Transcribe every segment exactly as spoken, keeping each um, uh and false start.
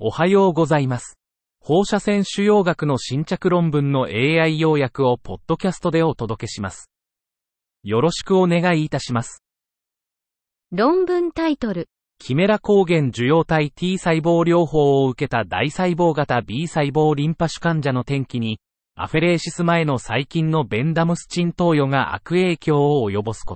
おはようございます。放射線腫瘍学の新着論文の エーアイ 要約をポッドキャストでお届けします。よろしくお願いいたします。 論文タイトル。 キメラ抗原受容体 T 細胞療法を受けた大細胞型 B 細胞リンパ腫患者の転機に、アフェレーシス前の細菌のベンダムスチン投与が悪影響を及ぼすこと。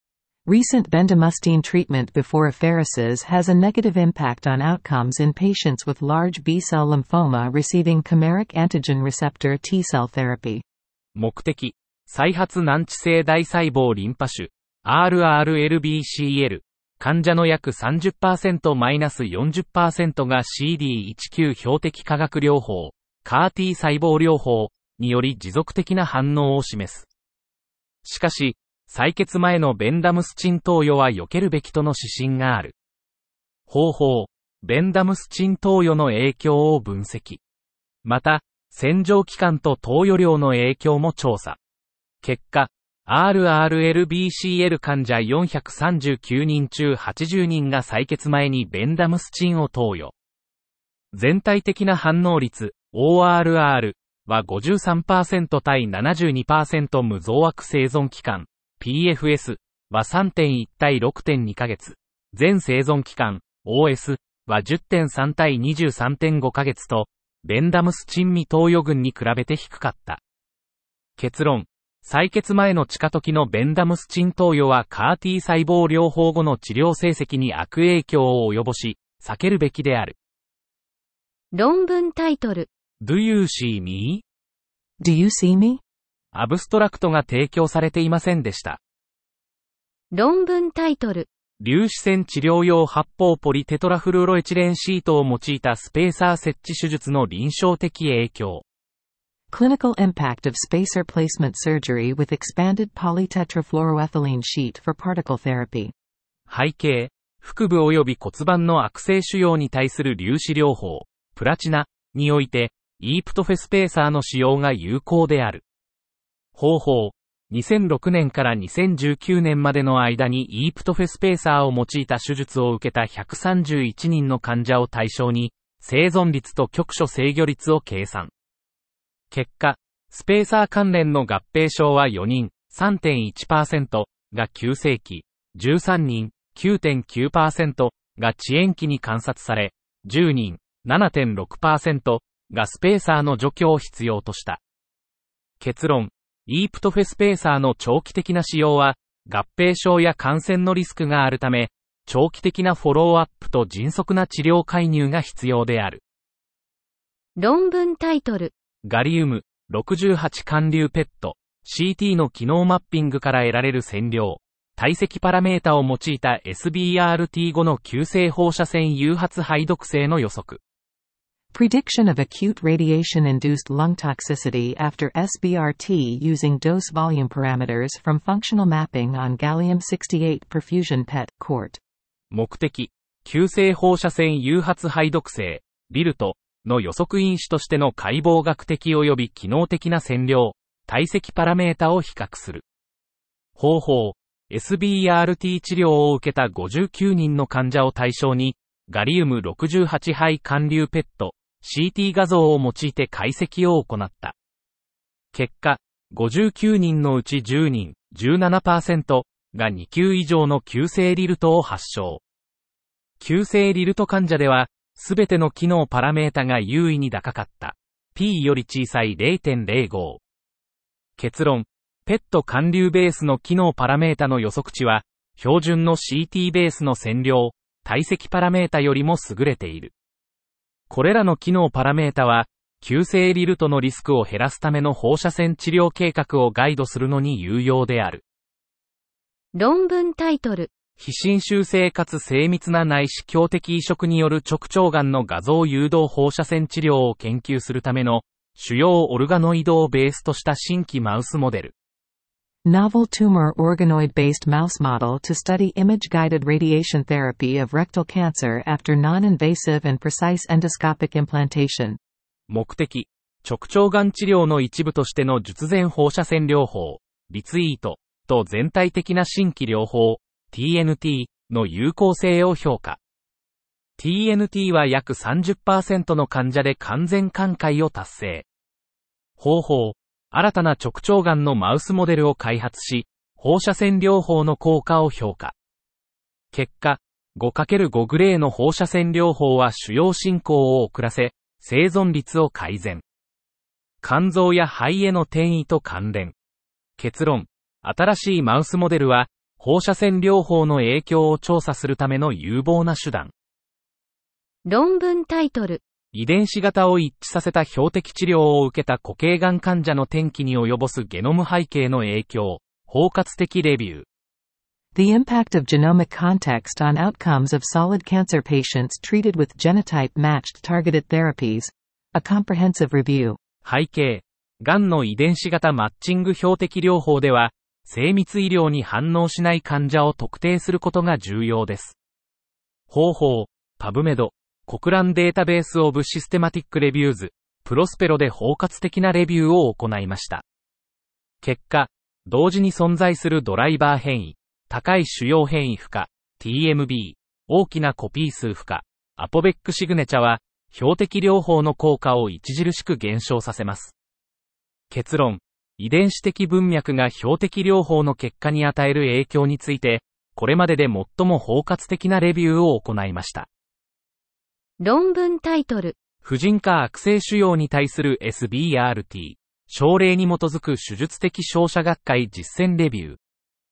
Recent bendamustine treatment before apheresis has a negative impact on outcomes in patients with large B-cell lymphoma receiving chimeric antigen receptor T-cell therapy. 目的、再発難治性大細胞リンパ腫 アールアールエルビーシーエル 患者の約 さんじゅっパーセントから よんじゅっパーセント が シーディーじゅうきゅう 標的化学療法 カー T 細胞療法により持続的な反応を示す。しかし、採血前のベンダムスチン投与は避けるべきとの指針がある。方法、ベンダムスチン投与の影響を分析。また、洗浄期間と投与量の影響も調査。結果、アールアールエルビーシーエル 患者よんひゃくさんじゅうきゅうにん中はちじゅうにんが採血前にベンダムスチンを投与。全体的な反応率、オーアールアール は ごじゅうさんパーセント 対 ななじゅうにパーセント 無増悪生存期間。ピーエフエス は さんてんいち 対 ろくてんに ヶ月。全生存期間 オーエス は じゅってんさん 対 にじゅうさんてんご ヶ月と、ベンダムスチン未投与群に比べて低かった。結論。採血前の地下時のベンダムスチン投与は カー T 細胞療法後の治療成績に悪影響を及ぼし、避けるべきである。 論文タイトル。 Do you see me? Do you see me? アブストラクトが提供されていませんでした。 論文タイトル。 粒子線治療用発泡ポリテトラフルオロエチレンシートを用いたスペーサー設置手術の臨床的影響。 Clinical impact of spacer placement surgery with expanded polytetrafluoroethylene sheet for particle therapy. 背景、腹部及び骨盤の悪性腫瘍に対する粒子療法、プラチナにおいて、イープトフェスペーサーの使用が有効である。方法、にせんろくねんからにせんじゅうきゅうねんまでの間にイープトフェスペーサーを用いた手術を受けたひゃくさんじゅういちにんの患者を対象に、生存率と局所制御率を計算。結果、スペーサー関連の合併症はよにん、さんてんいちパーセント が急性期、じゅうさんにん、きゅうてんきゅうパーセント が遅延期に観察され、じゅうにん、ななてんろくパーセント がスペーサーの除去を必要とした。結論。イープトフェスペーサーの長期的な使用は、合併症や感染のリスクがあるため、長期的なフォローアップと迅速な治療介入が必要である。 論文タイトル。 ガリウム、ろくじゅうはち 環流ペット、シーティー の機能マッピングから得られる線量、体積パラメータを用いた エスビーアールティー 後の急性放射線誘発肺毒性の予測。 Prediction of acute radiation-induced lung toxicity after エスビーアールティー using dose volume parameters from functional mapping on gallium sixty-eight perfusion ペット コーテ。 目的、急性放射線誘発肺毒性、ビルトの予測因子としての解剖学的及び機能的な線量、体積パラメータを比較する。方法、エスビーアールティー 治療を受けたごじゅうきゅうにんの患者を対象に、ガリウムろくじゅうはち肺環流ペット、シーティー 画像を用いて解析を行った。結果、ごじゅうきゅうにんのうちじゅうにん、じゅうななパーセント がに級以上の急性リルトを発症。急性リルト患者では、すべての機能パラメータが優位に高かった。P より小さい れいてんれいご。結論、ペット環流ベースの機能パラメータの予測値は、標準の シーティー ベースの線量、体積パラメータよりも優れている。これらの機能パラメータは、急性リルトのリスクを減らすための放射線治療計画をガイドするのに有用である。 論文タイトル。 非侵襲性かつ精密な内視鏡的移植による直腸がんの画像誘導放射線治療を研究するための主要オルガノイドをベースとした新規マウスモデル。 Novel tumor organoid-based mouse model to study image-guided radiation therapy of rectal cancer after non-invasive and precise endoscopic implantation. 目的、直腸がん治療の一部としての術前放射線療法、リツイートと全体的な新規療法、ティーエヌティー の有効性を評価。 ティーエヌティー は約 さんじゅっパーセント の患者で完全寛解を達成。方法、新たな直腸がんのマウスモデルを開発し、放射線療法の効果を評価。結果、ごかけるご グレーの放射線療法は腫瘍進行を遅らせ、生存率を改善。肝臓や肺への転移と関連。結論、新しいマウスモデルは、放射線療法の影響を調査するための有望な手段。 論文タイトル。 遺伝子型を一致させた標的治療を受けた固形がん患者の転機に及ぼすゲノム背景の影響、包括的レビュー。 The impact of genomic context on outcomes of solid cancer patients treated with genotype-matched targeted therapies. A comprehensive review. 背景、がんの遺伝子型マッチング標的療法では、精密医療に反応しない患者を特定することが重要です。方法、パブメド、国蘭データベースオブシステマティックレビューズ、プロスペロで包括的なレビューを行いました。結果、同時に存在するドライバー変異、高い主要変異負荷、ティーエムビー、大きなコピー数負荷、アポベックシグネチャは、標的療法の効果を著しく減少させます。結論、遺伝子的文脈が標的療法の結果に与える影響について、これまでで最も包括的なレビューを行いました。 論文タイトル。 婦人科悪性腫瘍に対する エスビーアールティー、症例に基づく手術的照射学会実践レビュー。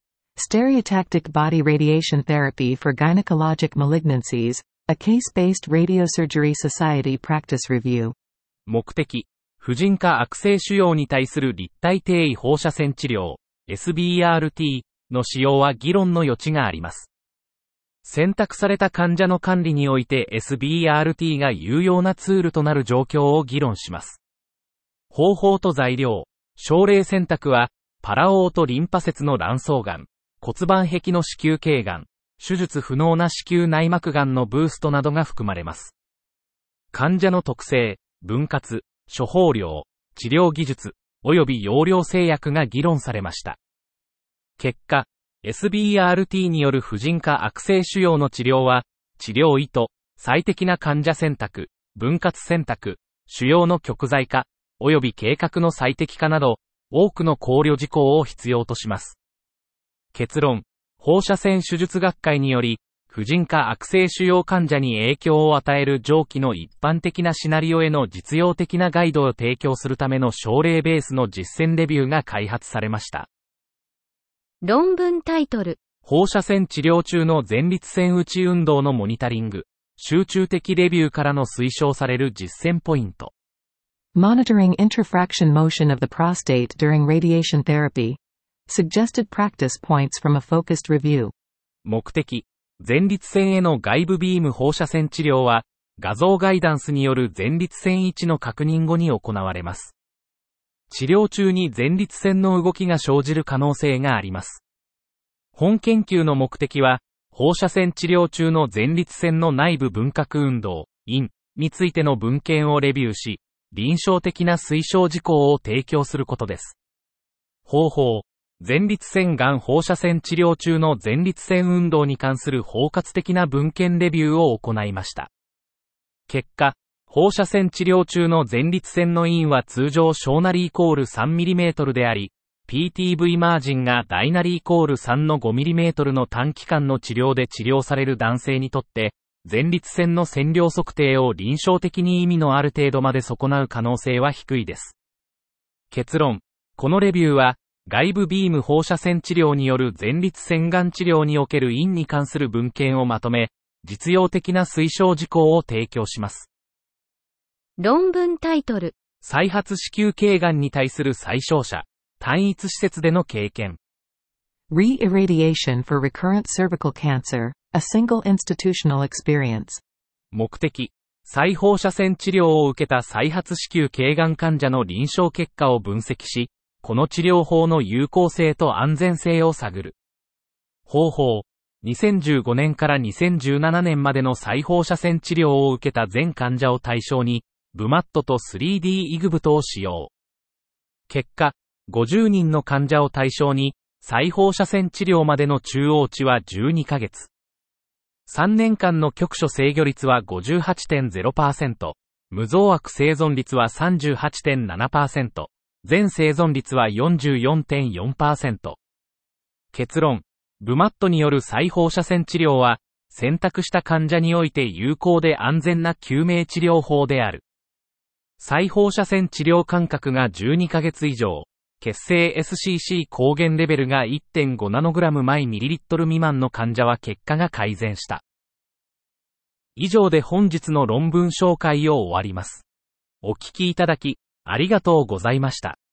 Stereotactic body radiation therapy for gynecologic malignancies, a case-based radiosurgery society practice review. 目的、婦人科悪性腫瘍に対する立体低位放射線治療、エスビーアールティー の使用は議論の余地があります。選択された患者の管理において エスビーアールティー が有用なツールとなる状況を議論します。方法と材料、症例選択は、パラオートリンパ節の卵巣がん、骨盤壁の子宮頸がん、手術不能な子宮内膜がんのブーストなどが含まれます。患者の特性、分割、処方量、治療技術、及び用量制約が議論されました。結果、エスビーアールティー による婦人科悪性腫瘍の治療は、治療意図、最適な患者選択、分割選択、腫瘍の極材化、及び計画の最適化など、多くの考慮事項を必要とします。結論、放射線手術学会により、婦人科悪性腫瘍患者に影響を与える上記の一般的なシナリオへの実用的なガイドを提供するための症例ベースの実践レビューが開発されました。 論文タイトル。 放射線治療中の前立腺打ち運動のモニタリング、集中的レビューからの推奨される実践ポイント。 Monitoring intrafraction motion of the prostate during radiation therapy. Suggested practice points from a focused review. 目的、前立腺への外部ビーム放射線治療は、画像ガイダンスによる前立腺位置の確認後に行われます。治療中に前立腺の動きが生じる可能性があります。本研究の目的は、放射線治療中の前立腺の内部分割運動、イン についての文献をレビューし、臨床的な推奨事項を提供することです。方法、前立腺がん放射線治療中の前立腺運動に関する包括的な文献レビューを行いました。結果、放射線治療中の前立腺のインは通常小なりイコール さんミリメートル であり、ピーティーブイ マージンが大なりイコールさんのごミリメートル の短期間の治療で治療される男性にとって、前立腺の線量測定を臨床的に意味のある程度まで損なう可能性は低いです。結論、このレビューは、外部ビーム放射線治療による前立腺がん治療におけるインに関する文献をまとめ、実用的な推奨事項を提供します。 論文タイトル。 再発子宮頸がんに対する再照射、単一施設での経験。 Re-irradiation for recurrent cervical cancer, a single institutional experience. 目的、再放射線治療を受けた再発子宮頸がん患者の臨床結果を分析し、この治療法の有効性と安全性を探る。方法、にせんじゅうごねんからにせんじゅうななねんまでの再放射線治療を受けた全患者を対象に、ブマットと スリーディー イグブトを使用。結果、ごじゅうにんの患者を対象に、再放射線治療までの中央値はじゅうにかげつ。 さんねんかんの局所制御率は ごじゅうはちてんゼロパーセント、無増悪生存率は さんじゅうはちてんななパーセント、全生存率は よんじゅうよんてんよんパーセント。結論、ブマットによる再放射線治療は、選択した患者において有効で安全な救命治療法である。再放射線治療間隔がじゅうにかげつ以上、血清 エスシーシー 抗原レベルが いってんごナノグラム毎ミリリットル未満の患者は結果が改善した。以上で本日の論文紹介を終わります。お聞きいただき、ありがとうございました。